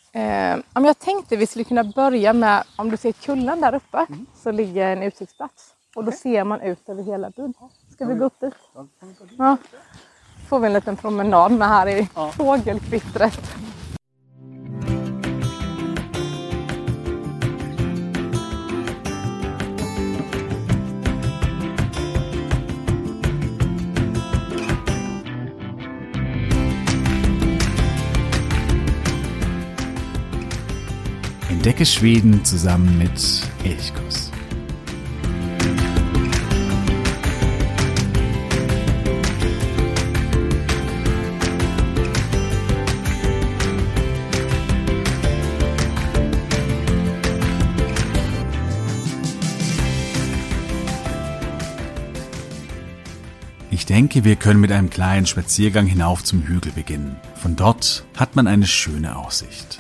Om jag tänkte vi skulle kunna börja med, om du ser kullen där uppe, så ligger en utsiktsplats. Och då ser man ut över hela byn. Ska vi gå upp dit? Ja. Får vi en liten promenad med här i fågelkvittret. Entdecke Schweden zusammen mit Elchkuss. Ich denke, wir können mit einem kleinen Spaziergang hinauf zum Hügel beginnen. Von dort hat man eine schöne Aussicht.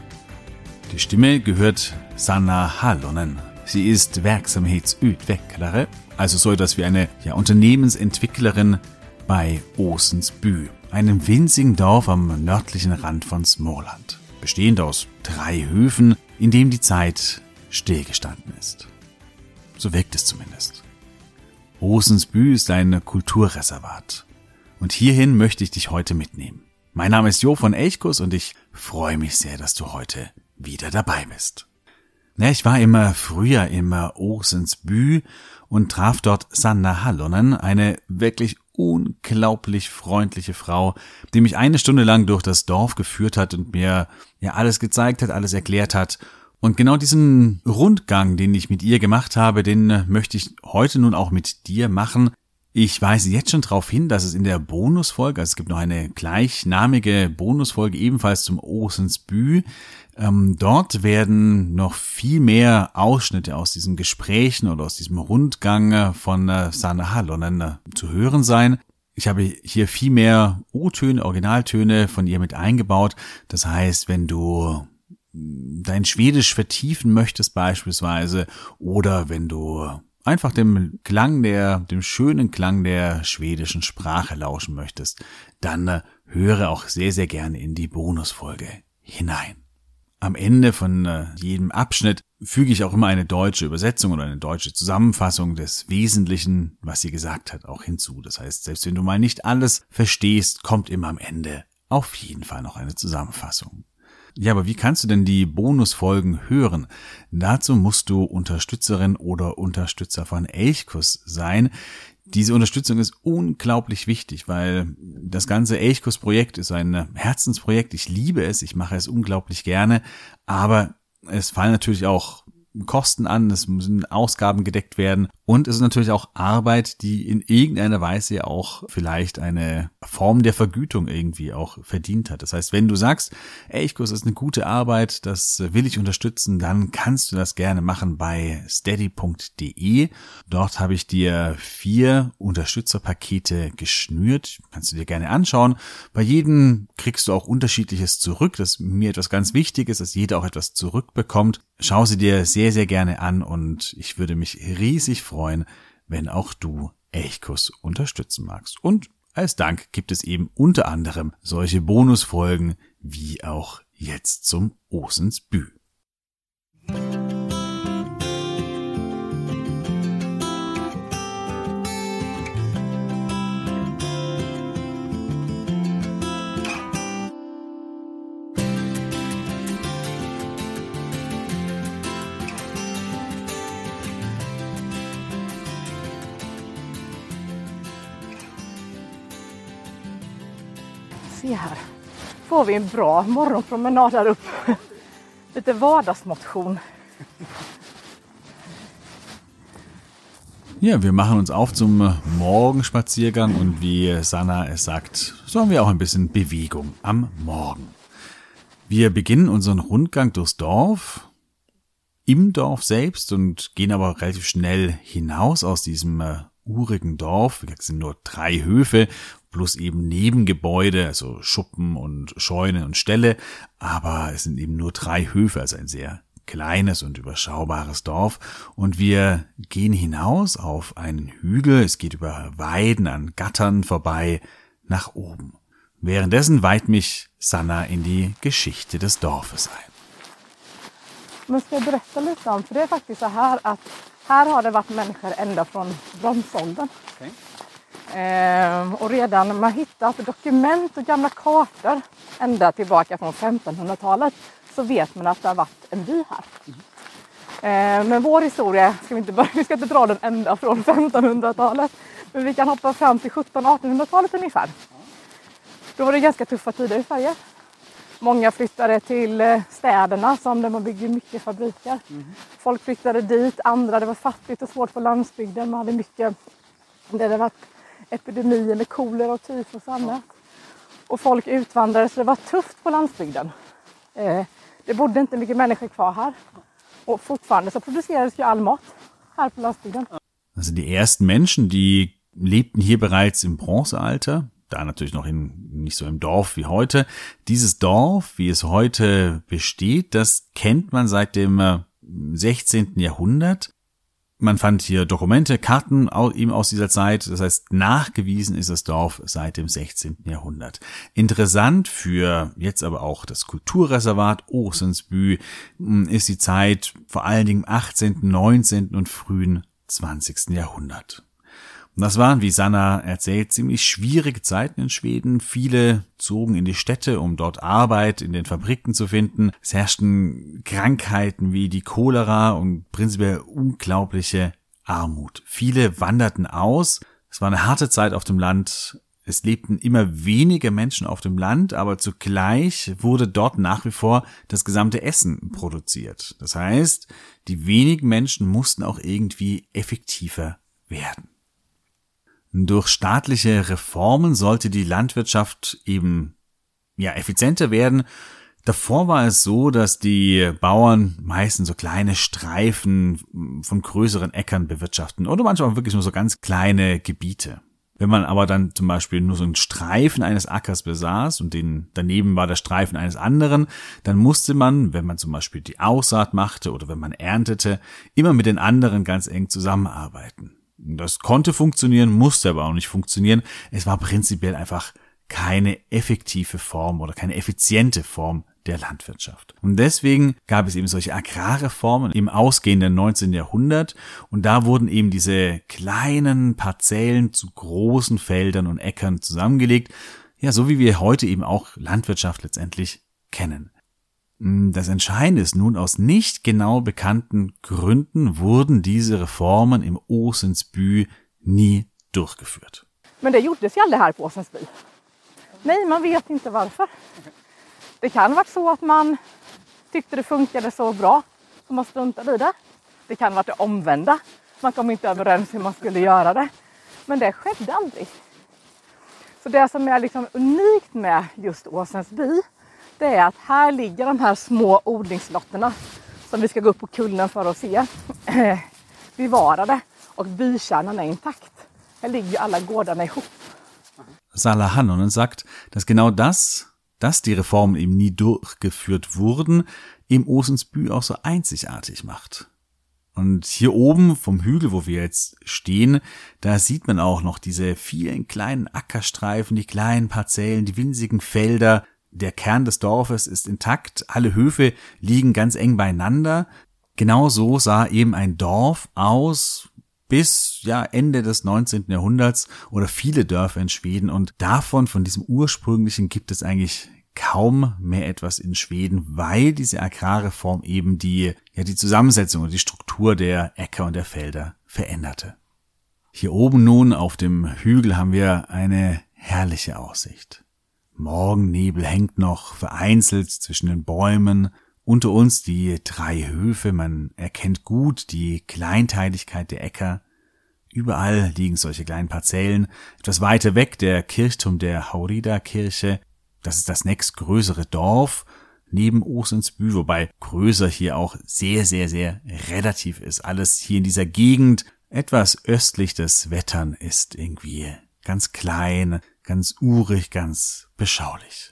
Die Stimme gehört Sanna Hallonen. Sie ist verksamhetsutvecklare, also so etwas wie eine Unternehmensentwicklerin bei Åsensby, einem winzigen Dorf am nördlichen Rand von Småland, bestehend aus 3 Höfen, in dem die Zeit stillgestanden ist. So wirkt es zumindest. Åsensby ist ein Kulturreservat und hierhin möchte ich dich heute mitnehmen. Mein Name ist Jo von Elchkuss und ich freue mich sehr, dass du heute wieder dabei bist. Ja, ich war im Frühjahr im Åsensby und traf dort Sanna Hallonen, eine wirklich unglaublich freundliche Frau, die mich 1 Stunde lang durch das Dorf geführt hat und mir alles gezeigt hat, alles erklärt hat. Und genau diesen Rundgang, den ich mit ihr gemacht habe, den möchte ich heute nun auch mit dir machen. Ich weise jetzt schon darauf hin, dass es in der Bonusfolge, also es gibt noch eine gleichnamige Bonusfolge ebenfalls zum Åsensby. Dort werden noch viel mehr Ausschnitte aus diesen Gesprächen oder aus diesem Rundgang von Sanna Hallonen zu hören sein. Ich habe hier viel mehr O-Töne, Originaltöne von ihr mit eingebaut. Das heißt, wenn du dein Schwedisch vertiefen möchtest beispielsweise oder wenn du einfach dem schönen Klang der schwedischen Sprache lauschen möchtest, dann höre auch sehr, sehr gerne in die Bonusfolge hinein. Am Ende von jedem Abschnitt füge ich auch immer eine deutsche Übersetzung oder eine deutsche Zusammenfassung des Wesentlichen, was sie gesagt hat, auch hinzu. Das heißt, selbst wenn du mal nicht alles verstehst, kommt immer am Ende auf jeden Fall noch eine Zusammenfassung. Ja, aber wie kannst du denn die Bonusfolgen hören? Dazu musst du Unterstützerin oder Unterstützer von Elchkuss sein. Diese Unterstützung ist unglaublich wichtig, weil das ganze Elchkuss-Projekt ist ein Herzensprojekt. Ich liebe es, ich mache es unglaublich gerne, aber es fallen natürlich auch Kosten an, es müssen Ausgaben gedeckt werden und es ist natürlich auch Arbeit, die in irgendeiner Weise auch vielleicht eine Form der Vergütung irgendwie auch verdient hat. Das heißt, wenn du sagst, Elchkuss ist eine gute Arbeit, das will ich unterstützen, dann kannst du das gerne machen bei steady.de. Dort habe ich dir 4 Unterstützerpakete geschnürt, kannst du dir gerne anschauen. Bei jedem kriegst du auch Unterschiedliches zurück, das ist mir etwas ganz Wichtiges, dass jeder auch etwas zurückbekommt. Schau sie dir sehr, sehr gerne an und ich würde mich riesig freuen, wenn auch du Elchkuss unterstützen magst. Und als Dank gibt es eben unter anderem solche Bonusfolgen wie auch jetzt zum Åsensby. Se här, får vi en bra morgonpromenad där uppe. Lite vardagsmotion. Ja, wir machen uns auf zum Morgenspaziergang und wie Sanna es sagt, so haben wir auch ein bisschen Bewegung am Morgen. Wir beginnen unseren Rundgang durchs Dorf, im Dorf selbst und gehen aber relativ schnell hinaus aus diesem urigen Dorf. Es sind nur 3 Höfe plus eben Nebengebäude, also Schuppen und Scheunen und Ställe, aber es sind eben nur 3 Höfe, also ein sehr kleines und überschaubares Dorf und wir gehen hinaus auf einen Hügel, es geht über Weiden an Gattern vorbei nach oben. Währenddessen weiht mich Sanna in die Geschichte des Dorfes ein. Men ska jag berätta lite om, för det är faktiskt så här att här har det varit människor ända från bronsåldern. Okay. Och redan när man hittat dokument och gamla kartor ända tillbaka från 1500-talet så vet man att det har varit en by här. Men vår historia, vi ska inte dra den ända från 1500-talet, men vi kan hoppa fram till 1700-1800-talet ungefär. Då var det ganska tuffa tider i Sverige. Många flyttade till städerna som där man bygger mycket fabriker. Folk flyttade dit, andra det var fattigt och svårt på landsbygden. Man hade mycket, det var epidemier med kolera och tyfus och annat. Och folk utvandrade så det var tufft på landsbygden. Det bodde inte mycket människor kvar här. Och fortfarande så producerades ju all mat här på landsbygden. Also die ersten Menschen, die lebten hier bereits im Bronzealter. Da natürlich noch nicht so im Dorf wie heute. Dieses Dorf, wie es heute besteht, das kennt man seit dem 16. Jahrhundert. Man fand hier Dokumente, Karten eben aus dieser Zeit. Das heißt, nachgewiesen ist das Dorf seit dem 16. Jahrhundert. Interessant für jetzt aber auch das Kulturreservat Åsensby ist die Zeit vor allen Dingen im 18., 19. und frühen 20. Jahrhundert. Und das waren, wie Sanna erzählt, ziemlich schwierige Zeiten in Schweden. Viele zogen in die Städte, um dort Arbeit in den Fabriken zu finden. Es herrschten Krankheiten wie die Cholera und prinzipiell unglaubliche Armut. Viele wanderten aus. Es war eine harte Zeit auf dem Land. Es lebten immer weniger Menschen auf dem Land, aber zugleich wurde dort nach wie vor das gesamte Essen produziert. Das heißt, die wenigen Menschen mussten auch irgendwie effektiver werden. Durch staatliche Reformen sollte die Landwirtschaft eben effizienter werden. Davor war es so, dass die Bauern meistens so kleine Streifen von größeren Äckern bewirtschaften oder manchmal auch wirklich nur so ganz kleine Gebiete. Wenn man aber dann zum Beispiel nur so einen Streifen eines Ackers besaß und daneben war der Streifen eines anderen, dann musste man, wenn man zum Beispiel die Aussaat machte oder wenn man erntete, immer mit den anderen ganz eng zusammenarbeiten. Das konnte funktionieren, musste aber auch nicht funktionieren. Es war prinzipiell einfach keine effektive Form oder keine effiziente Form der Landwirtschaft. Und deswegen gab es eben solche Agrarreformen im ausgehenden 19. Jahrhundert und da wurden eben diese kleinen Parzellen zu großen Feldern und Äckern zusammengelegt, ja, so wie wir heute eben auch Landwirtschaft letztendlich kennen. Das Entscheidende ist nun, aus nicht genau bekannten Gründen wurden diese Reformen im Åsensby nie durchgeführt. Men det gjordes ju aldrig här på Åsensby. Nej, man vet inte varför. Det kan vara så att man tyckte det funkade så bra så man struntade i det. Det kan vara det omvända. Man kom inte överens hur man skulle göra det. Men det skedde aldrig. Så det som är liksom unikt med just Åsensby, det är att här ligger de här små odlingslotterna som vi ska gå upp på kullen för att se bevarade och bykärnan är intakt. Här ligger alla gårdarna ihop. Salla Hannonen sagt, dass genau dass die Reformen eben nie durchgeführt wurden, im Åsensby auch so einzigartig macht. Und hier oben vom Hügel, wo wir jetzt stehen, da sieht man auch noch diese vielen kleinen Ackerstreifen, die kleinen Parzellen, die winzigen Felder. Der Kern des Dorfes ist intakt, alle Höfe liegen ganz eng beieinander. Genau so sah eben ein Dorf aus bis Ende des 19. Jahrhunderts oder viele Dörfer in Schweden. Und von diesem ursprünglichen gibt es eigentlich kaum mehr etwas in Schweden, weil diese Agrarreform eben die Zusammensetzung und die Struktur der Äcker und der Felder veränderte. Hier oben nun auf dem Hügel haben wir eine herrliche Aussicht. Morgennebel hängt noch vereinzelt zwischen den Bäumen. Unter uns die 3 Höfe, man erkennt gut die Kleinteiligkeit der Äcker. Überall liegen solche kleinen Parzellen. Etwas weiter weg der Kirchturm der Haurida-Kirche. Das ist das nächstgrößere Dorf neben Åsensby, wobei größer hier auch sehr, sehr, sehr relativ ist. Alles hier in dieser Gegend, etwas östlich des Wettern, ist irgendwie ganz klein, ganz urig, ganz beschaulich.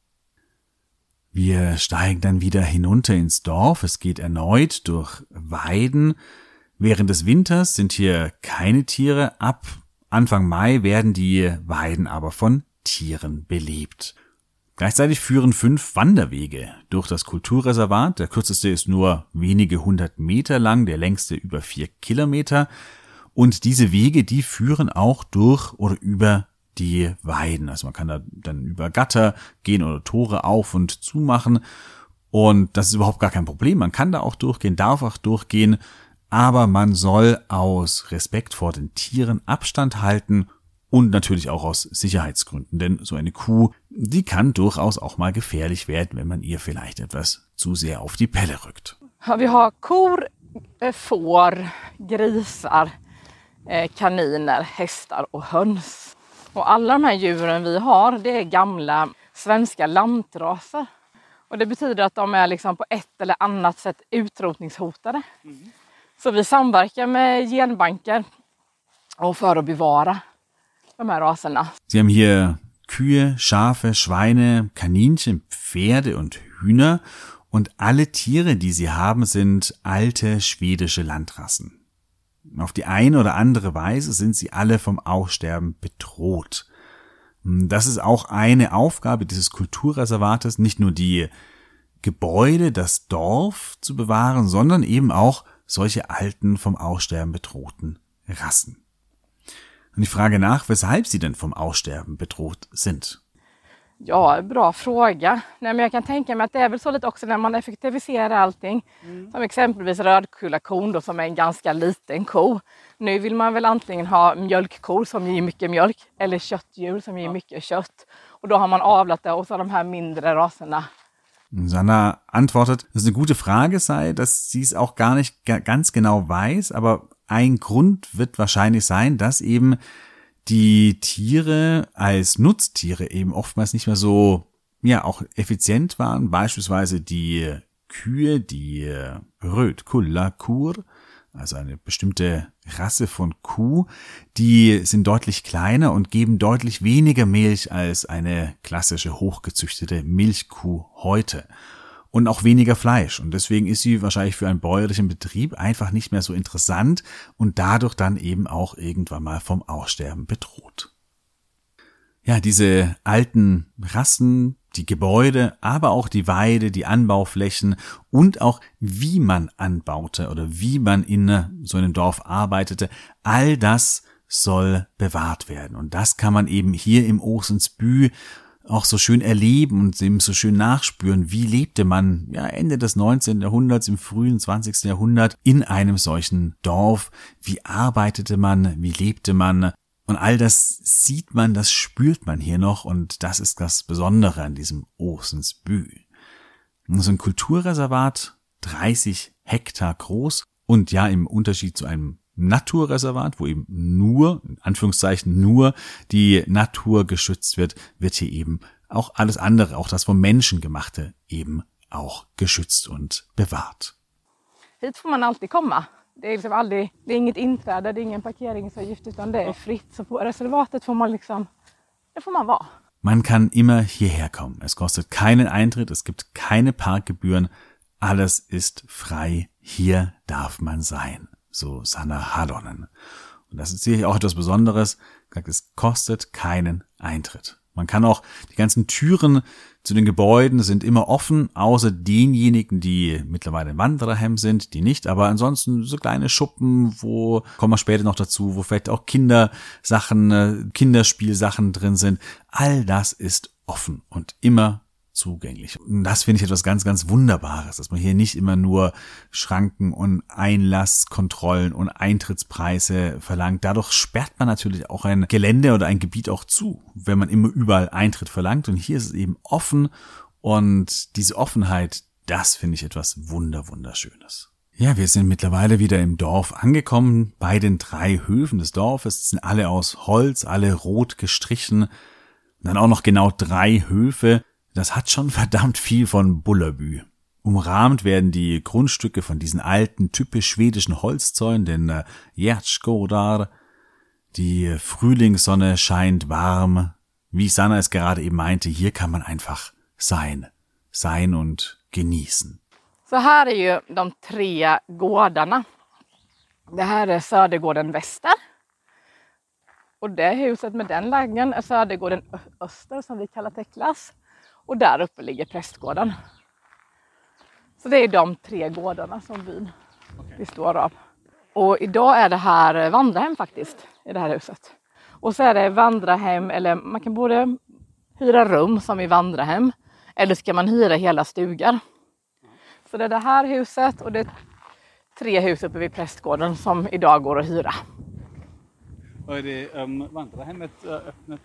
Wir steigen dann wieder hinunter ins Dorf. Es geht erneut durch Weiden. Während des Winters sind hier keine Tiere. Ab Anfang Mai werden die Weiden aber von Tieren belebt. Gleichzeitig führen 5 Wanderwege durch das Kulturreservat. Der kürzeste ist nur wenige 100 Meter lang, der längste über 4 Kilometer. Und diese Wege, die führen auch durch oder über die Weiden. Also man kann da dann über Gatter gehen oder Tore auf und zumachen. Und das ist überhaupt gar kein Problem. Man kann da auch durchgehen, darf auch durchgehen. Aber man soll aus Respekt vor den Tieren Abstand halten und natürlich auch aus Sicherheitsgründen. Denn so eine Kuh, die kann durchaus auch mal gefährlich werden, wenn man ihr vielleicht etwas zu sehr auf die Pelle rückt. Vi har kor, får, grisar, kaniner, hästar och höns. Och alla de här djuren vi har, det är gamla svenska lantraser. Och det betyder att de är liksom på ett eller annat sätt utrotningshotade. Så vi samverkar med genbanker och för att bevara de här raserna. Sie haben hier Kühe, Schafe, Schweine, Kaninchen, Pferde und Hühner. Und alle Tiere, die sie haben, sind alte schwedische Landrassen. Auf die eine oder andere Weise sind sie alle vom Aussterben bedroht. Das ist auch eine Aufgabe dieses Kulturreservates, nicht nur die Gebäude, das Dorf zu bewahren, sondern eben auch solche alten, vom Aussterben bedrohten Rassen. Und ich frage nach, weshalb sie denn vom Aussterben bedroht sind. Ja, bra fråga. Nej, men jag kan tänka mig att det är väl så lite också när man effektiviserar allting. Som exempelvis rödkullakon då, som är en ganska liten ko. Nu vill man väl antingen ha mjölkkor som ger mycket mjölk eller köttdjur som ger mycket kött. Och då har man avlat det och så de här mindre raserna. Sanna antwortet, dass es eine gute Frage sei, dass sie es auch gar nicht ganz genau weiß, aber ein Grund wird wahrscheinlich sein, dass eben die Tiere als Nutztiere eben oftmals nicht mehr so, ja, auch effizient waren. Beispielsweise die Kühe, die rödkullakur, also eine bestimmte Rasse von Kuh, die sind deutlich kleiner und geben deutlich weniger Milch als eine klassische hochgezüchtete Milchkuh heute. Und auch weniger Fleisch. Und deswegen ist sie wahrscheinlich für einen bäuerlichen Betrieb einfach nicht mehr so interessant und dadurch dann eben auch irgendwann mal vom Aussterben bedroht. Ja, diese alten Rassen, die Gebäude, aber auch die Weide, die Anbauflächen und auch wie man anbaute oder wie man in so einem Dorf arbeitete, all das soll bewahrt werden. Und das kann man eben hier im Åsensby auch so schön erleben und eben so schön nachspüren, wie lebte man ja Ende des 19. Jahrhunderts, im frühen 20. Jahrhundert in einem solchen Dorf, wie arbeitete man, wie lebte man und all das sieht man, das spürt man hier noch und das ist das Besondere an diesem Åsensby. So ein Kulturreservat, 30 Hektar groß und ja im Unterschied zu einem Naturreservat, wo eben nur, in Anführungszeichen nur, die Natur geschützt wird, wird hier eben auch alles andere, auch das vom Menschen gemachte, eben auch geschützt und bewahrt. Hit får man alltid komma. Det är liksom aldrig, det är inget inträde, det är ingen parkeringsavgift utan det är fritt. Så på reservatet får man liksom, det får man vara. Man kann immer hierher kommen. Es kostet keinen Eintritt, es gibt keine Parkgebühren. Alles ist frei. Hier darf man sein. So Sanna Halonen. Und das ist sicherlich auch etwas Besonderes. Es kostet keinen Eintritt. Man kann auch, die ganzen Türen zu den Gebäuden sind immer offen, außer denjenigen, die mittlerweile im Wandererheim sind, die nicht. Aber ansonsten so kleine Schuppen, wo, kommen wir später noch dazu, wo vielleicht auch Kindersachen, Kinderspielsachen drin sind. All das ist offen und immer zugänglich. Und das finde ich etwas ganz, ganz Wunderbares, dass man hier nicht immer nur Schranken und Einlasskontrollen und Eintrittspreise verlangt. Dadurch sperrt man natürlich auch ein Gelände oder ein Gebiet auch zu, wenn man immer überall Eintritt verlangt. Und hier ist es eben offen und diese Offenheit, das finde ich etwas Wunderschönes. Ja, wir sind mittlerweile wieder im Dorf angekommen, bei den 3 Höfen des Dorfes. Die sind alle aus Holz, alle rot gestrichen. Und dann auch noch genau 3 Höfe. Das hat schon verdammt viel von Bullerby. Umrahmt werden die Grundstücke von diesen alten, typisch schwedischen Holzzäunen, den Gärdsgårdar. Die Frühlingssonne scheint warm. Wie Sanna es gerade eben meinte, hier kann man einfach sein und genießen. Så här är ju de 3 gårdarna. Det här är Södergården Väster. Och det huset med den lägen är Södergården Öster som vi kallar Teklas. Och där uppe ligger prästgården. Så det är de 3 gårdarna som byn består av. Och idag är det här vandrarhem faktiskt i det här huset. Och så är det vandrarhem, eller man kan både hyra rum som i vandrarhem. Eller ska man hyra hela stugar. Så det är det här huset och det är 3 hus uppe vid prästgården som idag går att hyra. Och är det vandrarhemmet öppnat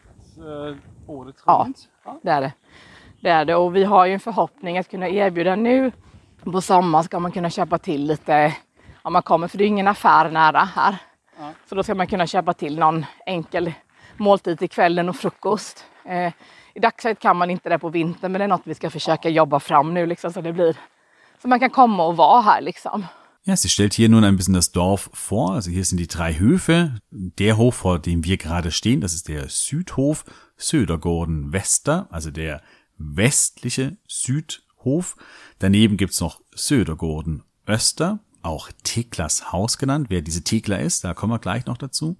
året runt? Ja, det är det. Det är det. Och vi har ju en förhoppning att kunna erbjuda nu. På sommaren ska man kunna köpa till lite, om man kommer, för det är ingen affär nära här. Ja. Så då ska man kunna köpa till någon enkel måltid till kvällen och frukost. I dagsläget kan man inte det på vintern, men det är något vi ska försöka jobba fram nu liksom, så det blir så man kan komma och vara här liksom. Ja, sie stellt hier nun ein bisschen das Dorf vor. Also hier sind die 3 Höfe. Der Hof, vor dem wir gerade stehen, das ist der Südhof, Södergården Väster, also der westliche Südhof. Daneben gibt's noch Södergården Öster, auch Teklas Haus genannt. Wer diese Tekla ist, da kommen wir gleich noch dazu.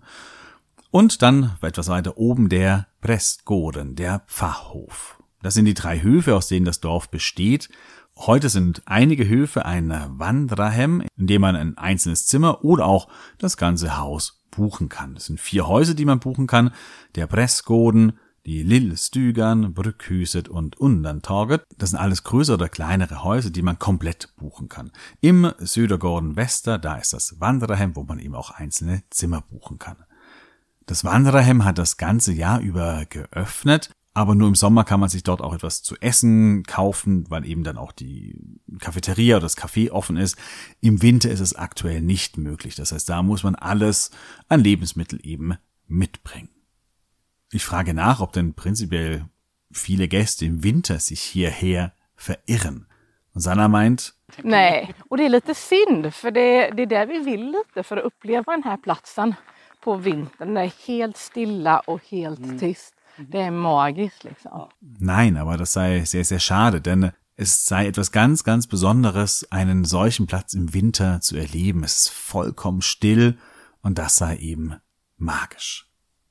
Und dann etwas weiter oben der Prästgården, der Pfarrhof. Das sind die 3 Höfe, aus denen das Dorf besteht. Heute sind einige Höfe ein Vandrarhem, in dem man ein einzelnes Zimmer oder auch das ganze Haus buchen kann. Es sind 4 Häuser, die man buchen kann. Der Prästgården, die Lillstugan, Brückhuset und Undantorget. Das sind alles größere oder kleinere Häuser, die man komplett buchen kann. Im Södergården Väster, da ist das Vandrarhem, wo man eben auch einzelne Zimmer buchen kann. Das Vandrarhem hat das ganze Jahr über geöffnet, aber nur im Sommer kann man sich dort auch etwas zu essen kaufen, weil eben dann auch die Cafeteria oder das Café offen ist. Im Winter ist es aktuell nicht möglich. Das heißt, da muss man alles an Lebensmittel eben mitbringen. Ich frage nach, ob denn prinzipiell viele Gäste im Winter sich hierher verirren. Und Sanna meint... Nej, och det är lite synd, för det är där vi vill lite för att uppleva den här platsen på vintern. Det är helt stilla och helt tyst. Det är magiskt liksom. Nein, aber das sei sehr, sehr schade, denn es sei etwas ganz, ganz Besonderes, einen solchen Platz im Winter zu erleben. Es ist vollkommen still und das sei eben magisch.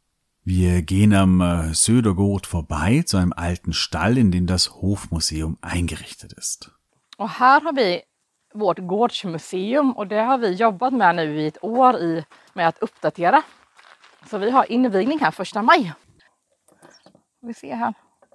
Wir gehen am Södergård vorbei zu einem alten Stall, in dem das Hofmuseum eingerichtet ist. Och här har vi vårt gårdsmuseum och det har vi jobbat med nu i ett år med att uppdatera. Så vi har invigning här 1 maj. Vi ser här.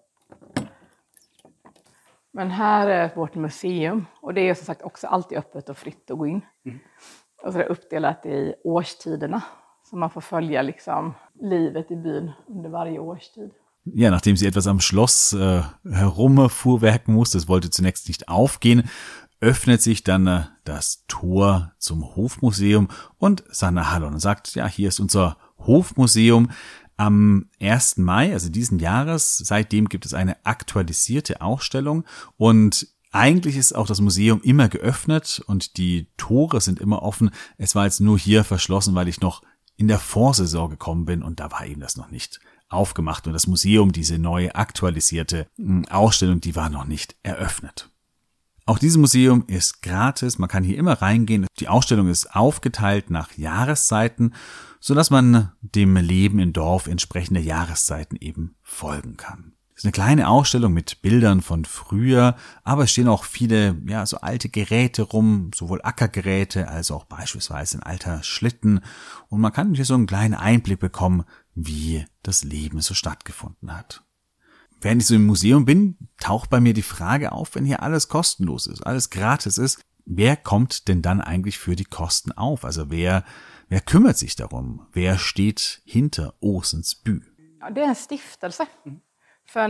Men här är vårt museum och det är som sagt också alltid öppet och fritt att gå in. Och så är det uppdelat i årstiderna. Så man får följa liksom livet i byn under varje årstid. Ja, nachdem sie etwas am Schloss herumfuhrwerken musste, es wollte zunächst nicht aufgehen, öffnet sich dann das Tor zum Hofmuseum und Sanna Hallon sagt, ja, hier ist unser Hofmuseum. Am 1. Mai, also diesen Jahres, seitdem gibt es eine aktualisierte Ausstellung und eigentlich ist auch das Museum immer geöffnet und die Tore sind immer offen. Es war jetzt nur hier verschlossen, weil ich noch in der Vorsaison gekommen bin und da war eben das noch nicht aufgemacht und das Museum, diese neue aktualisierte Ausstellung, die war noch nicht eröffnet. Auch dieses Museum ist gratis, man kann hier immer reingehen. Die Ausstellung ist aufgeteilt nach Jahreszeiten, sodass man dem Leben im Dorf entsprechender Jahreszeiten eben folgen kann. Es ist eine kleine Ausstellung mit Bildern von früher, aber es stehen auch viele, ja, so alte Geräte rum, sowohl Ackergeräte als auch beispielsweise ein alter Schlitten. Und man kann hier so einen kleinen Einblick bekommen, wie das Leben so stattgefunden hat. Während ich so im Museum bin, taucht bei mir die Frage auf, wenn hier alles kostenlos ist, alles gratis ist, wer kommt denn dann eigentlich für die Kosten auf? Also wer kümmert sich darum? Wer steht hinter Åsens by? Ja, det är en stiftelse. För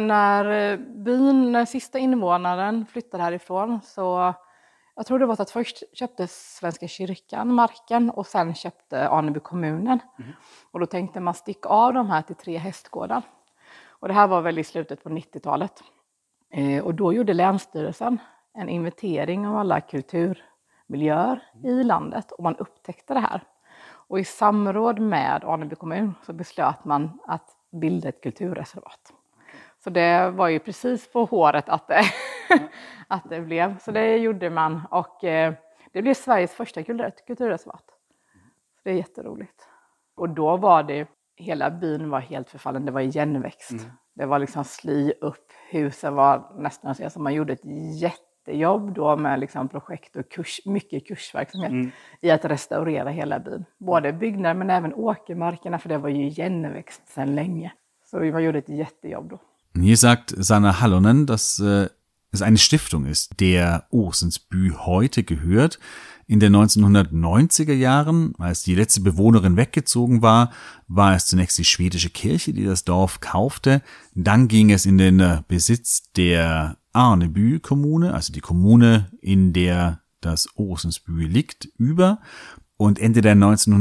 när sista invånaren flyttade härifrån så, jag tror det var att först köpte Svenska kyrkan marken och sen köpte Aneby kommunen. Och då tänkte man sticka av de här till 3 hästgårdar. Och det här var väl i slutet på 90-talet. Och då gjorde Länsstyrelsen en inventering av alla kulturmiljöer i landet och man upptäckte det här. Och i samråd med Aneby kommun så beslöt man att bilda ett kulturreservat. Så det var ju precis på håret att det blev. Så det gjorde man och det blev Sveriges första kulturreservat. Så det är jätteroligt. Och då var det hela byn var helt förfallen. Det var igenväxt. Det var liksom sly upp. Husen var nästan så man gjorde ett jättejobb då med liksom projekt och mycket kursverksamhet i att restaurera hela byn. Både byggnader men även åkermarkerna, för det var ju igenväxt sedan länge. Så man gjorde ett jättejobb då. Hier sagt Sanna Hallonen, dass es eine Stiftung ist, der Oosensby heute gehört. In den 1990er Jahren, als die letzte Bewohnerin weggezogen war, war es zunächst die schwedische Kirche, die das Dorf kaufte. Dann ging es in den Besitz der Arneby-Kommune, also die Kommune, in der das Oosensby liegt, über. Und Ende der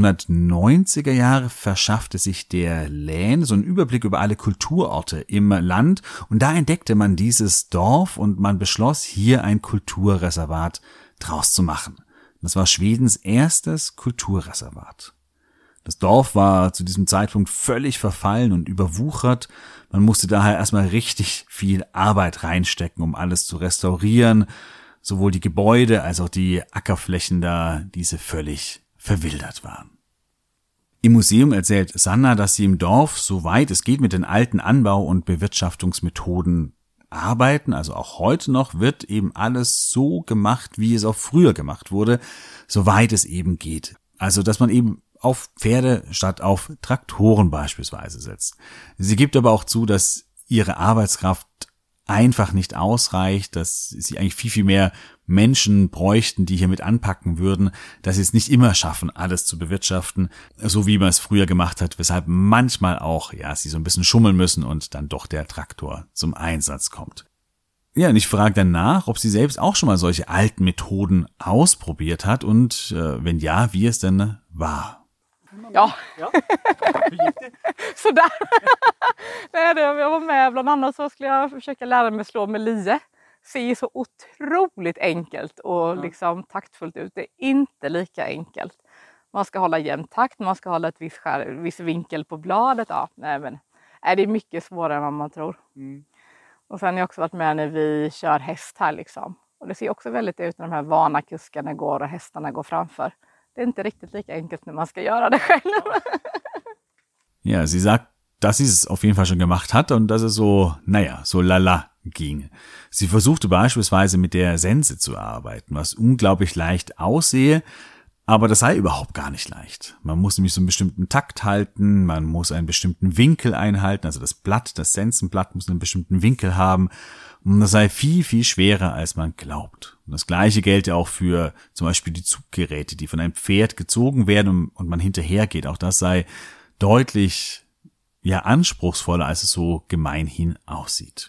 1990er Jahre verschaffte sich der Län so einen Überblick über alle Kulturorte im Land. Und da entdeckte man dieses Dorf und man beschloss, hier ein Kulturreservat draus zu machen. Das war Schwedens erstes Kulturreservat. Das Dorf war zu diesem Zeitpunkt völlig verfallen und überwuchert. Man musste daher erstmal richtig viel Arbeit reinstecken, um alles zu restaurieren. Sowohl die Gebäude als auch die Ackerflächen da, diese völlig verwildert waren. Im Museum erzählt Sanna, dass sie im Dorf, soweit es geht, mit den alten Anbau- und Bewirtschaftungsmethoden arbeiten. Also auch heute noch wird eben alles so gemacht, wie es auch früher gemacht wurde, soweit es eben geht. Also dass man eben auf Pferde statt auf Traktoren beispielsweise setzt. Sie gibt aber auch zu, dass ihre Arbeitskraft einfach nicht ausreicht, dass sie eigentlich viel, viel mehr Menschen bräuchten, die hier mit anpacken würden, dass sie es nicht immer schaffen, alles zu bewirtschaften, so wie man es früher gemacht hat, weshalb manchmal auch, sie so ein bisschen schummeln müssen und dann doch der Traktor zum Einsatz kommt. Ja, und ich frage dann nach, ob sie selbst auch schon mal solche alten Methoden ausprobiert hat und wenn ja, wie es denn war. Ja. Hur gick det? Sådär. Jag var med, bland annat så skulle jag försöka lära mig slå med lie. Ser så otroligt enkelt och liksom taktfullt ut. Det är inte lika enkelt. Man ska hålla jämn takt, man ska hålla ett viss vinkel på bladet. Det är mycket svårare än vad man tror. Och sen har jag också varit med när vi kör häst här liksom. Och det ser också väldigt ut när de här vana kuskarna går och hästarna går framför. Det är inte riktigt lika enkelt när man ska göra det själv. Ja, sie sagt, dass sie es auf jeden Fall schon gemacht hat und dass es so lala ging. Sie versuchte beispielsweise mit der Sense zu arbeiten, was unglaublich leicht aussehe, aber das sei überhaupt gar nicht leicht. Man muss nämlich so einen bestimmten Takt halten, man muss einen bestimmten Winkel einhalten, also das Sensenblatt muss einen bestimmten Winkel haben. Und das sei viel, viel schwerer, als man glaubt. Und das Gleiche gelte auch für zum Beispiel die Zuggeräte, die von einem Pferd gezogen werden und man hinterhergeht. Auch das sei deutlich, anspruchsvoller, als es so gemeinhin aussieht.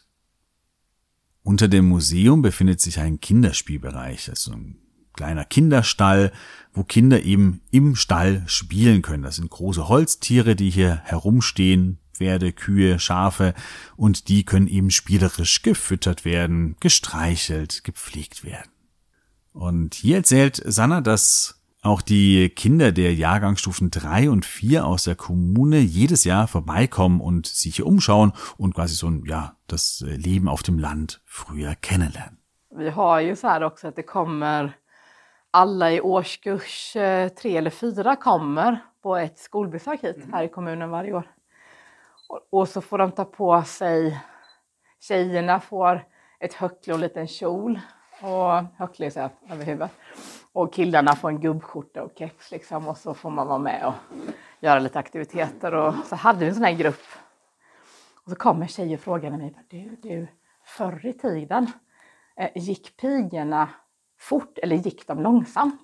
Unter dem Museum befindet sich ein Kinderspielbereich, also ein kleiner Kinderstall, wo Kinder eben im Stall spielen können. Das sind große Holztiere, die hier herumstehen, Pferde, Kühe, Schafe, und die können eben spielerisch gefüttert werden, gestreichelt, gepflegt werden. Und hier erzählt Sanna, dass auch die Kinder der Jahrgangsstufen 3 und 4 aus der Kommune jedes Jahr vorbeikommen und sich hier umschauen und quasi so das Leben auf dem Land früher kennenlernen. Vi har ju så här också att det kommer alla i årskurs 3 eller 4 kommer på ett skolbesök hit här i kommunen varje år. Och så får de ta på sig, tjejerna får ett höckle och en liten kjol och höckle så här över huvudet. Och killarna får en gubbskjorta och keps liksom, och så får man vara med och göra lite aktiviteter. Och så hade vi en sån här grupp. Och så kommer tjejer och frågar mig, du, förr i tiden, gick pigorna fort eller gick de långsamt?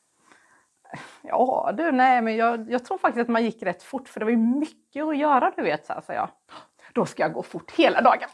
Ja du, nej men jag tror faktiskt att man gick rätt fort, för det var ju mycket att göra, du vet, så här, sa jag. Då ska jag gå fort hela dagen.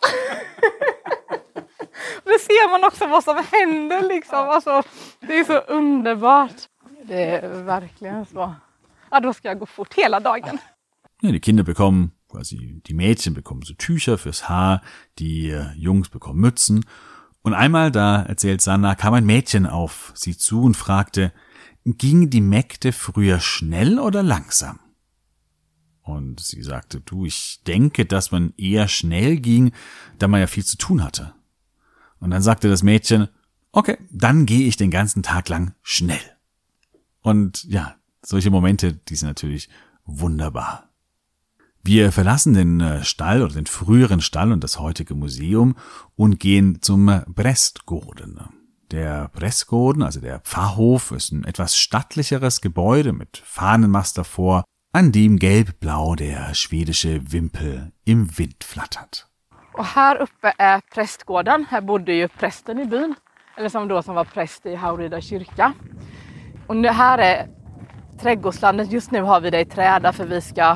Det ser man också vad som händer liksom. Alltså, det är så underbart. Det är verkligen så. Ja, då ska jag gå fort hela dagen. Ja, die Kinder bekommen, quasi die Mädchen bekommen so Tücher fürs Haar, die Jungs bekommen Mützen. Und einmal, da erzählt Sanna, kam ein Mädchen auf sie zu und fragte, gingen die Mägde früher schnell oder langsam? Und sie sagte, ich denke, dass man eher schnell ging, da man ja viel zu tun hatte. Und dann sagte das Mädchen, okay, dann gehe ich den ganzen Tag lang schnell. Und solche Momente, die sind natürlich wunderbar. Wir verlassen den Stall oder den früheren Stall und das heutige Museum und gehen zum Prästgården. Der Prästgården, also der Pfarrhof, ist ein etwas stattlicheres Gebäude mit Fahnenmast davor, an dem gelb-blau der schwedische Wimpel im Wind flattert. Och här uppe är prästgården. Här bodde ju prästen i byn. Eller som var präst i Haurida kyrka. Och det här är trädgårdslandet. Just nu har vi det i träda för vi ska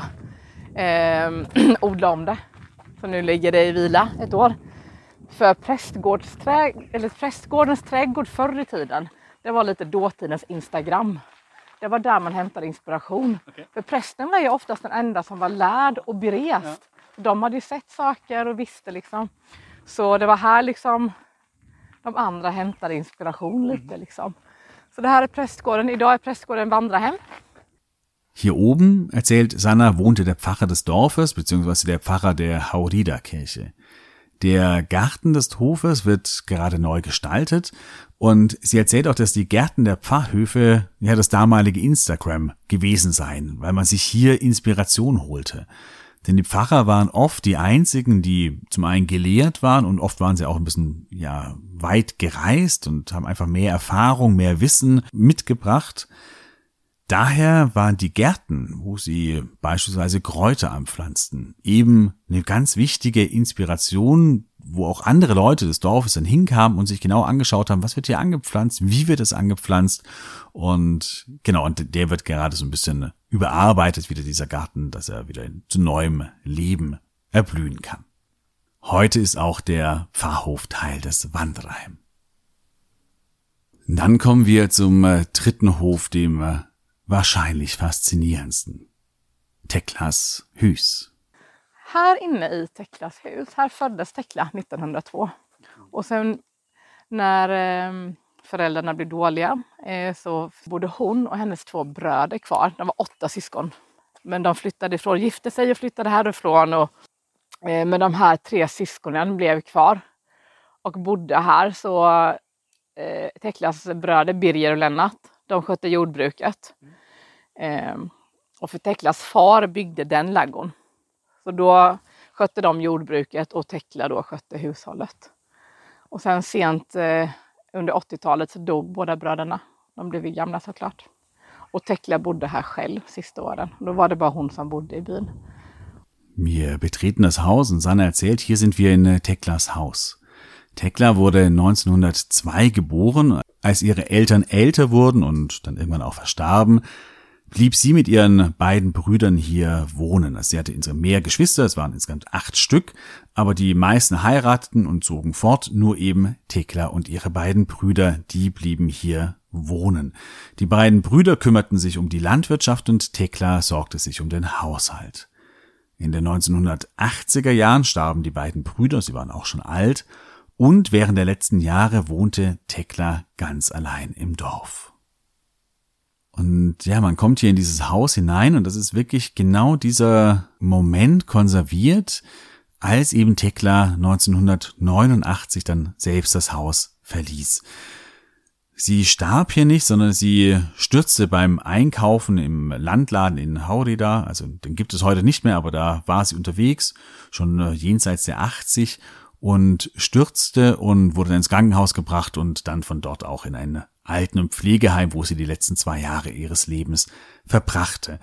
odla om det. Så nu ligger det i vila ett år. För prästgårdens trädgård förr i tiden, det var lite dåtidens Instagram. Det var där man hämtade inspiration. Okay. För prästen var ju oftast den enda som var lärd och berest. Ja. De hade ju sett saker och visste liksom. Så det var här liksom de andra hämtade inspiration lite liksom. Så det här är prästgården. Idag är prästgården vandrarhem. Hier oben, erzählt Sanna, wohnte der Pfarrer des Dorfes bzw. der Pfarrer der Haurida-Kirche. Der Garten des Hofes wird gerade neu gestaltet und sie erzählt auch, dass die Gärten der Pfarrhöfe ja das damalige Instagram gewesen seien, weil man sich hier Inspiration holte. Denn die Pfarrer waren oft die einzigen, die zum einen gelehrt waren und oft waren sie auch ein bisschen weit gereist und haben einfach mehr Erfahrung, mehr Wissen mitgebracht. Daher waren die Gärten, wo sie beispielsweise Kräuter anpflanzten, eben eine ganz wichtige Inspiration, wo auch andere Leute des Dorfes dann hinkamen und sich genau angeschaut haben, was wird hier angepflanzt, wie wird es angepflanzt und genau, und der wird gerade so ein bisschen überarbeitet, wieder dieser Garten, dass er wieder zu neuem Leben erblühen kann. Heute ist auch der Pfarrhof Teil des Wandererheim. Dann kommen wir zum dritten Hof, dem wahrscheinlich faszinierendsten. Teklas hus. Här inne i Teklas hus, här föddes Tekla 1902. Och sen när föräldrarna blev dåliga så bodde hon och hennes 2 bröder kvar. De var 8 syskon. Men de flyttade ifrån, gifte sig och flyttade härifrån. Men de här 3 syskonen blev kvar och bodde här. Så Teklas bröder Birger och Lennart, de skötte jordbruket. Och för Teklas far byggde den ladugården. Så då skötte de jordbruket och Tekla då skötte hushållet. Och sen sent under 80-talet så dog båda bröderna. De blev gamla såklart. Och Tekla bodde här själv sista åren. Då var det bara hon som bodde i byn. Wir betreten das Haus und Sanna erzählt, hier sind wir in Teklas Haus. Tekla wurde 1902 geboren. Als ihre Eltern älter wurden und dann irgendwann auch verstarben, blieb sie mit ihren beiden Brüdern hier wohnen. Also sie hatte insgesamt mehr Geschwister, es waren insgesamt 8 Stück, aber die meisten heirateten und zogen fort, nur eben Tekla und ihre beiden Brüder, die blieben hier wohnen. Die beiden Brüder kümmerten sich um die Landwirtschaft und Tekla sorgte sich um den Haushalt. In den 1980er Jahren starben die beiden Brüder, sie waren auch schon alt, und während der letzten Jahre wohnte Tekla ganz allein im Dorf. Und ja, man kommt hier in dieses Haus hinein und das ist wirklich genau dieser Moment konserviert, als eben Tekla 1989 dann selbst das Haus verließ. Sie starb hier nicht, sondern sie stürzte beim Einkaufen im Landladen in Haurida, also den gibt es heute nicht mehr, aber da war sie unterwegs, schon jenseits der 80, und stürzte und wurde dann ins Krankenhaus gebracht und dann von dort auch in ein Alten- und Pflegeheim, wo sie die letzten 2 Jahre ihres Lebens verbrachte.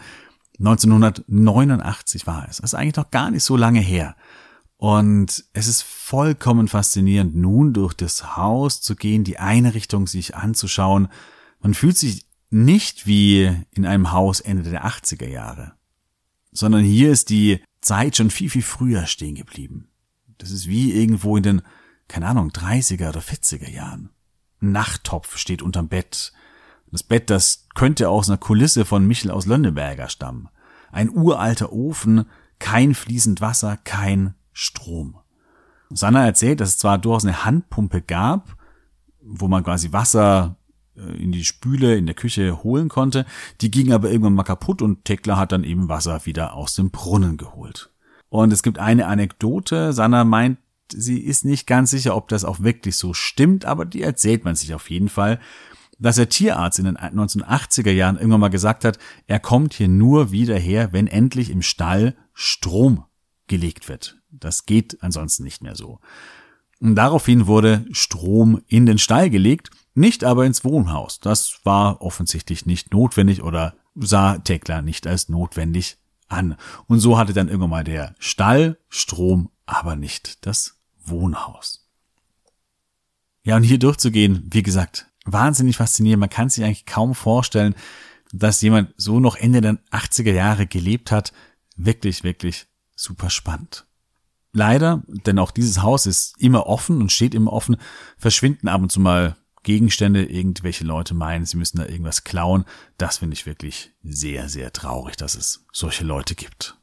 1989 war es. Das ist eigentlich noch gar nicht so lange her. Und es ist vollkommen faszinierend, nun durch das Haus zu gehen, die Einrichtung sich anzuschauen. Man fühlt sich nicht wie in einem Haus Ende der 80er Jahre, sondern hier ist die Zeit schon viel, viel früher stehen geblieben. Das ist wie irgendwo in den, 30er oder 40er Jahren. Ein Nachttopf steht unterm Bett. Das Bett, das könnte aus einer Kulisse von Michel aus Lönneberger stammen. Ein uralter Ofen, kein fließend Wasser, kein Strom. Sanna erzählt, dass es zwar durchaus eine Handpumpe gab, wo man quasi Wasser in die Spüle in der Küche holen konnte, die ging aber irgendwann mal kaputt und Tekla hat dann eben Wasser wieder aus dem Brunnen geholt. Und es gibt eine Anekdote, Sanna meint, sie ist nicht ganz sicher, ob das auch wirklich so stimmt, aber die erzählt man sich auf jeden Fall, dass der Tierarzt in den 1980er Jahren irgendwann mal gesagt hat, er kommt hier nur wieder her, wenn endlich im Stall Strom gelegt wird. Das geht ansonsten nicht mehr so. Und daraufhin wurde Strom in den Stall gelegt, nicht aber ins Wohnhaus. Das war offensichtlich nicht notwendig oder sah Tekla nicht als notwendig an. Und so hatte dann irgendwann mal der Stall Strom, aber nicht das Wohnhaus. Ja, und hier durchzugehen, wie gesagt, wahnsinnig faszinierend. Man kann sich eigentlich kaum vorstellen, dass jemand so noch Ende der 80er Jahre gelebt hat. Wirklich, wirklich super spannend. Leider, denn auch dieses Haus ist immer offen und steht immer offen, verschwinden ab und zu mal Gegenstände, irgendwelche Leute meinen, sie müssen da irgendwas klauen. Das finde ich wirklich sehr, sehr traurig, dass es solche Leute gibt.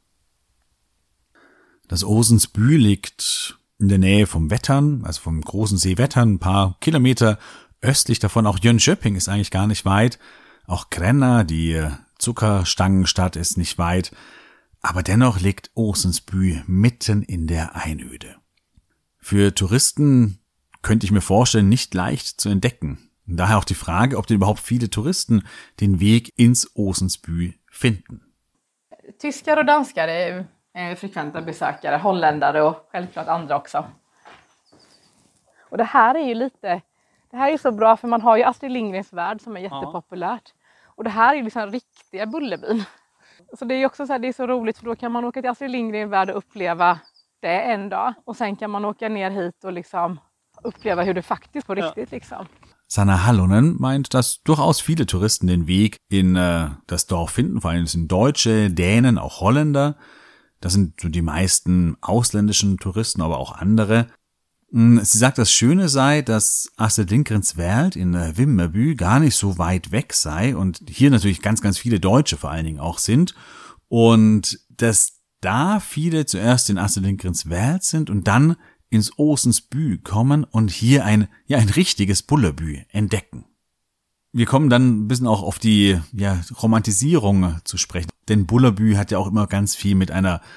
Das Åsensby liegt in der Nähe vom Vättern, also vom großen See Vättern, ein paar Kilometer östlich davon. Auch Jönköping ist eigentlich gar nicht weit. Auch Gränna, die Zuckerstangenstadt, ist nicht weit. Aber dennoch liegt Åsensby mitten in der Einöde. Für Touristen könnte ich mir vorstellen, nicht leicht zu entdecken. Und daher auch die Frage, ob denn überhaupt viele Touristen den Weg ins Åsensby finden. Tyskar och danskar är frekventa besökare, holländare och självklart andra också. Och det här är ju så bra för man har ju Astrid Lindgrens Värld som är jättepopulärt. Och det här är ju liksom riktiga Bullerbyn. Så det är ju också så här, det är så roligt för då kan man åka till Astrid Lindgrens Värld och uppleva det en dag. Och sen kan man åka ner hit och liksom uppleva hur det faktiskt på riktigt liksom. Sanna Hallonen meint, dass durchaus viele Touristen den Weg in das Dorf finden. Vor allem sind Deutsche, Dänen, auch Holländer. Das sind so die meisten ausländischen Touristen, aber auch andere. Sie sagt, das Schöne sei, dass Astrid Lindgrens Welt in Vimmerby gar nicht so weit weg sei und hier natürlich ganz, ganz viele Deutsche vor allen Dingen auch sind und dass da viele zuerst in Astrid Lindgrens Welt sind und dann ins Åsensby kommen und hier ein richtiges Bullerbü entdecken. Wir kommen dann ein bisschen auch auf die Romantisierung zu sprechen, denn Bullerbü hat ja auch immer ganz viel mit so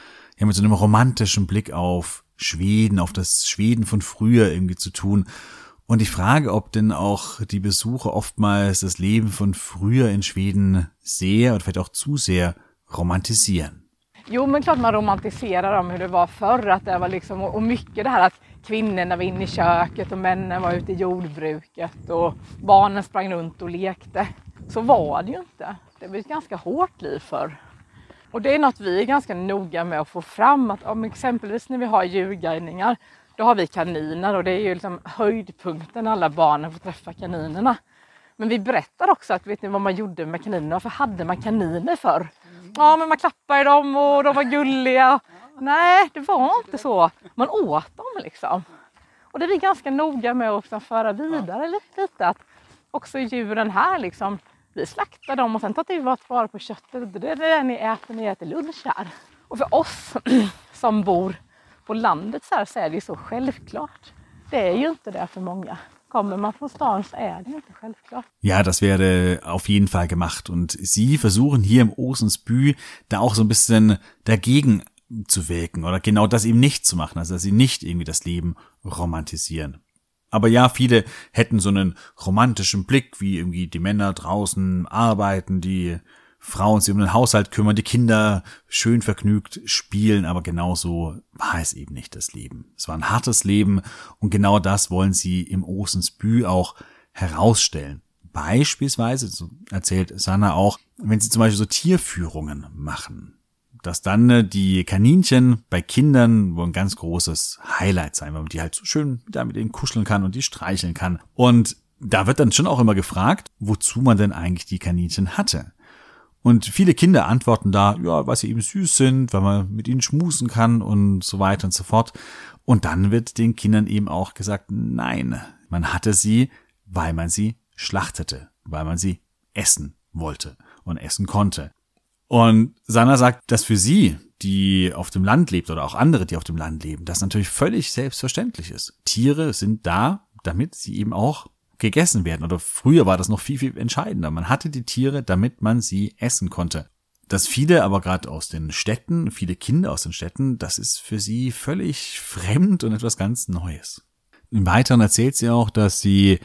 einem romantischen Blick auf Schweden, auf das Schweden von früher irgendwie zu tun. Und ich frage, ob denn auch die Besucher oftmals das Leben von früher in Schweden sehr oder vielleicht auch zu sehr romantisieren. Jo, men klart man romantiserar om hur det var förr, att det var liksom, och mycket det här att kvinnorna var inne i köket och männen var ute i jordbruket och barnen sprang runt och lekte. Så var det ju inte. Det var ett ganska hårt liv förr. Och det är något vi är ganska noga med att få fram, att om exempelvis när vi har djurguidningar, då har vi kaniner och det är ju liksom höjdpunkten när alla barnen får träffa kaninerna. Men vi berättar också att vet ni vad man gjorde med kaninerna, för hade man kaniner förr? Ja, men man klappade dem och de var gulliga. Nej, det var inte så. Man åt dem liksom. Och det är vi ganska noga med att liksom föra vidare lite att också djuren här liksom, vi slaktar dem och sen tar vi vara på köttet. Det är det ni äter lunch här. Och för oss som bor på landet så är det ju så självklart. Det är ju inte det för många. Kommer man von stan så är det inte självklart. Ja, das werde auf jeden Fall gemacht. Und sie versuchen hier im Åsensby da auch so ein bisschen dagegen zu wirken oder genau das eben nicht zu machen. Also dass sie nicht irgendwie das Leben romantisieren. Aber ja, viele hätten so einen romantischen Blick, wie irgendwie die Männer draußen arbeiten, die Frauen sich um den Haushalt kümmern, die Kinder schön vergnügt spielen, aber genauso war es eben nicht das Leben. Es war ein hartes Leben und genau das wollen sie im Åsensby auch herausstellen. Beispielsweise, so erzählt Sanna auch, wenn sie zum Beispiel so Tierführungen machen, dass dann die Kaninchen bei Kindern wohl ein ganz großes Highlight sein, weil man die halt so schön da mit ihnen kuscheln kann und die streicheln kann. Und da wird dann schon auch immer gefragt, wozu man denn eigentlich die Kaninchen hatte. Und viele Kinder antworten da, ja, weil sie eben süß sind, weil man mit ihnen schmusen kann und so weiter und so fort. Und dann wird den Kindern eben auch gesagt, nein, man hatte sie, weil man sie schlachtete, weil man sie essen wollte und essen konnte. Und Sanna sagt, dass für sie, die auf dem Land lebt oder auch andere, die auf dem Land leben, das natürlich völlig selbstverständlich ist. Tiere sind da, damit sie eben auch gegessen werden. Oder früher war das noch viel, viel entscheidender. Man hatte die Tiere, damit man sie essen konnte. Dass viele aber gerade aus den Städten, viele Kinder aus den Städten, das ist für sie völlig fremd und etwas ganz Neues. Im Weiteren erzählt sie auch, dass sie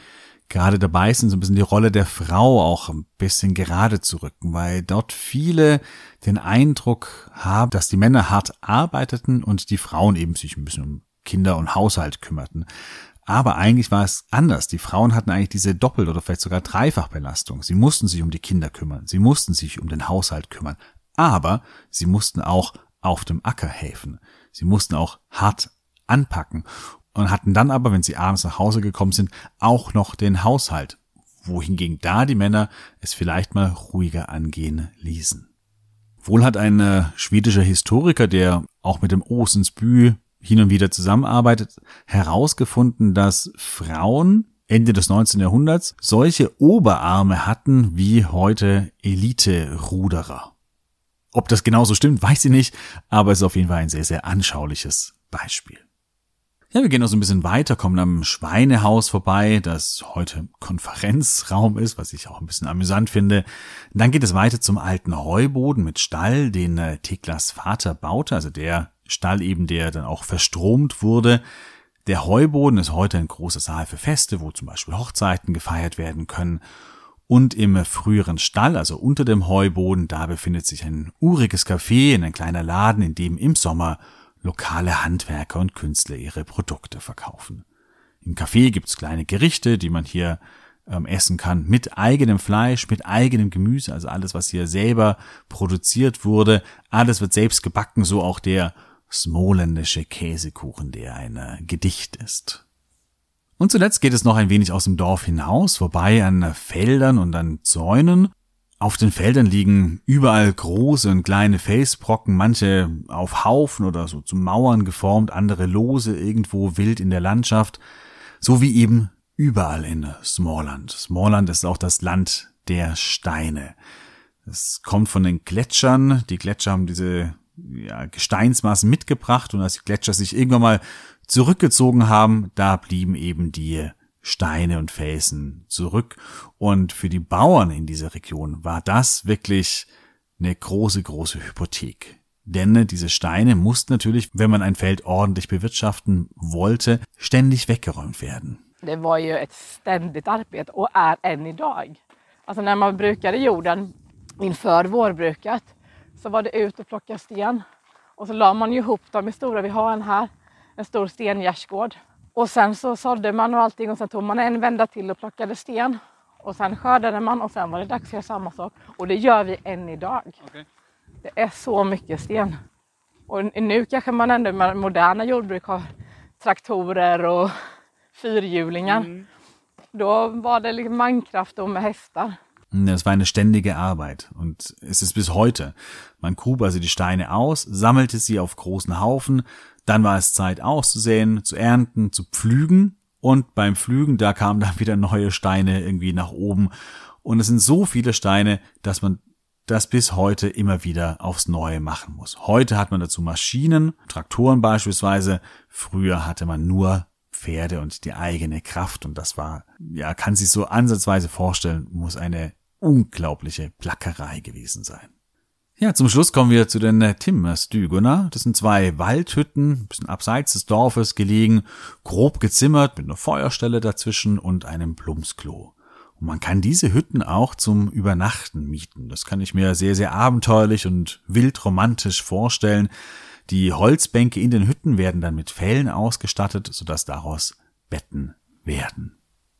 gerade dabei sind, so ein bisschen die Rolle der Frau auch ein bisschen gerade zu rücken, weil dort viele den Eindruck haben, dass die Männer hart arbeiteten und die Frauen eben sich ein bisschen um Kinder und Haushalt kümmerten. Aber eigentlich war es anders. Die Frauen hatten eigentlich diese Doppel- oder vielleicht sogar Dreifachbelastung. Sie mussten sich um die Kinder kümmern, sie mussten sich um den Haushalt kümmern, aber sie mussten auch auf dem Acker helfen. Sie mussten auch hart anpacken und hatten dann aber, wenn sie abends nach Hause gekommen sind, auch noch den Haushalt, wohingegen da die Männer es vielleicht mal ruhiger angehen ließen. Wohl hat ein schwedischer Historiker, der auch mit dem Åsensby hin und wieder zusammenarbeitet, herausgefunden, dass Frauen Ende des 19. Jahrhunderts solche Oberarme hatten wie heute Elite-Ruderer. Ob das genauso stimmt, weiß ich nicht, aber es ist auf jeden Fall ein sehr, sehr anschauliches Beispiel. Ja, wir gehen noch so ein bisschen weiter, kommen am Schweinehaus vorbei, das heute Konferenzraum ist, was ich auch ein bisschen amüsant finde. Dann geht es weiter zum alten Heuboden mit Stall, den Theklas Vater baute, also der Stall eben, der dann auch verstromt wurde. Der Heuboden ist heute ein großer Saal für Feste, wo zum Beispiel Hochzeiten gefeiert werden können. Und im früheren Stall, also unter dem Heuboden, da befindet sich ein uriges Café, ein kleiner Laden, in dem im Sommer lokale Handwerker und Künstler ihre Produkte verkaufen. Im Café gibt's kleine Gerichte, die man hier essen kann, mit eigenem Fleisch, mit eigenem Gemüse, also alles, was hier selber produziert wurde. Alles wird selbst gebacken, so auch der smoländische Käsekuchen, der ein Gedicht ist. Und zuletzt geht es noch ein wenig aus dem Dorf hinaus, vorbei an Feldern und an Zäunen. Auf den Feldern liegen überall große und kleine Felsbrocken, manche auf Haufen oder so zu Mauern geformt, andere lose irgendwo wild in der Landschaft, so wie eben überall in Småland. Småland ist auch das Land der Steine. Es kommt von den Gletschern. Die Gletscher haben diese Gesteinsmassen mitgebracht und als die Gletscher sich irgendwann mal zurückgezogen haben, da blieben eben die Steine und Felsen zurück. Und für die Bauern in dieser Region war das wirklich eine große, große Hypothek. Denn diese Steine mussten natürlich, wenn man ein Feld ordentlich bewirtschaften wollte, ständig weggeräumt werden. Det var ju ett ständigt arbete och är än idag. Alltså när man brukade jorden inför vårbruket så var det ut och plocka sten. Och så la man ju ihop dem i stora, vi har en stor stengärdsgård. Och sen så sådde man och allting och sen tog man en vända till och plockade sten. Och sen skördade man och sen var det dags att göra samma sak. Och det gör vi än idag. Okay. Det är så mycket sten. Och nu kanske man ändå med moderna jordbruk har traktorer och fyrhjulingar. Då var det liksom mankraft och med hästar. Es war eine ständige Arbeit und es ist bis heute. Man grub also die Steine aus, sammelte sie auf großen Haufen, dann war es Zeit auszusäen, zu ernten, zu pflügen und beim Pflügen, da kamen dann wieder neue Steine irgendwie nach oben und es sind so viele Steine, dass man das bis heute immer wieder aufs Neue machen muss. Heute hat man dazu Maschinen, Traktoren beispielsweise, früher hatte man nur Pferde und die eigene Kraft und das war, ja, kann sich so ansatzweise vorstellen, muss eine unglaubliche Plackerei gewesen sein. Ja, zum Schluss kommen wir zu den Timmerstugorna. Das sind 2 Waldhütten, ein bisschen abseits des Dorfes gelegen, grob gezimmert mit einer Feuerstelle dazwischen und einem Plumpsklo. Und man kann diese Hütten auch zum Übernachten mieten. Das kann ich mir sehr, sehr abenteuerlich und wild romantisch vorstellen. Die Holzbänke in den Hütten werden dann mit Fellen ausgestattet, sodass daraus Betten werden.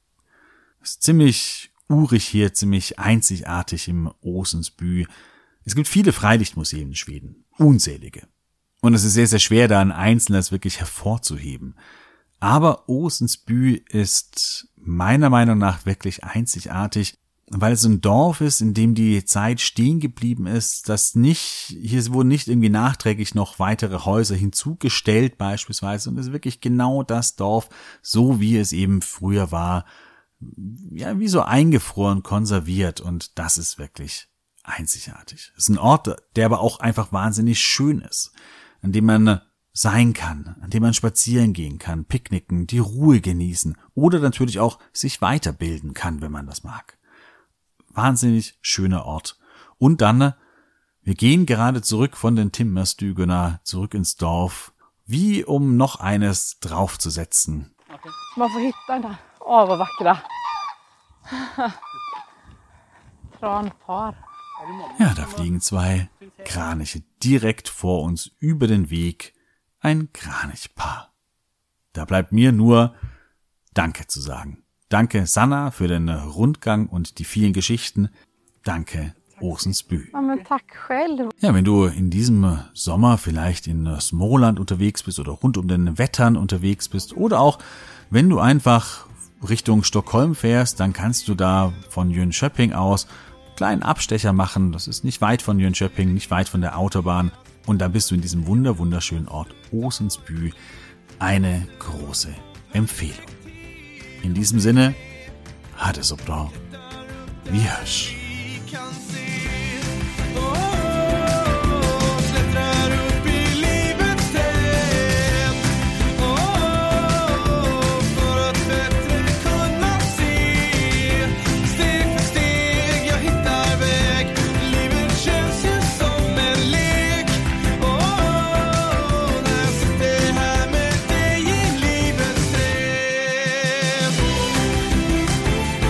Das ist ziemlich urig hier, ziemlich einzigartig im Åsensby. Es gibt viele Freilichtmuseen in Schweden, unzählige. Und es ist sehr, sehr schwer, da ein einzelnes wirklich hervorzuheben. Aber Åsensby ist meiner Meinung nach wirklich einzigartig, weil es ein Dorf ist, in dem die Zeit stehen geblieben ist, hier wurden nicht irgendwie nachträglich noch weitere Häuser hinzugestellt beispielsweise, und es ist wirklich genau das Dorf, so wie es eben früher war, ja, wie so eingefroren, konserviert, und das ist wirklich einzigartig. Es ist ein Ort, der aber auch einfach wahnsinnig schön ist, an dem man sein kann, an dem man spazieren gehen kann, picknicken, die Ruhe genießen oder natürlich auch sich weiterbilden kann, wenn man das mag. Wahnsinnig schöner Ort. Und dann, wir gehen gerade zurück von den Timmerstugorna zurück ins Dorf, wie um noch eines draufzusetzen. Man får hitta den här. Åh, vad vackra. Tranpar. Ja, da fliegen 2 Kraniche direkt vor uns über den Weg. Ein Kranichpaar. Da bleibt mir nur Danke zu sagen. Danke, Sanna, für den Rundgang und die vielen Geschichten. Danke, Åsensby. Ja, men tack själv. Ja, wenn du in diesem Sommer vielleicht in Småland unterwegs bist oder rund um den Wettern unterwegs bist oder auch wenn du einfach Richtung Stockholm fährst, dann kannst du da von Jönköping aus einen kleinen Abstecher machen. Das ist nicht weit von Jönköping, nicht weit von der Autobahn. Und dann bist du in diesem wunderschönen Ort Åsensby. Eine große Empfehlung. In diesem Sinne, ha det så bra. Vi hörs.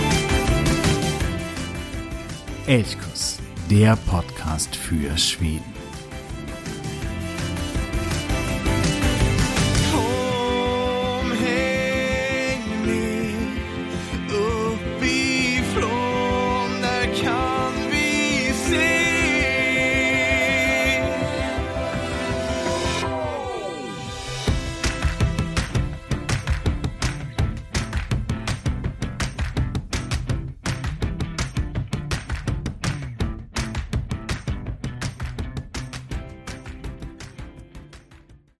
Elchkuss, der Podcast für Schweden.